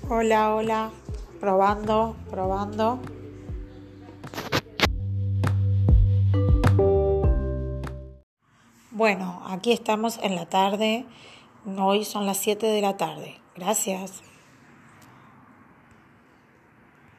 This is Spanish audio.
Hola, hola, probando, probando. Bueno, aquí estamos en la tarde. Hoy son las 7 de la tarde. Gracias.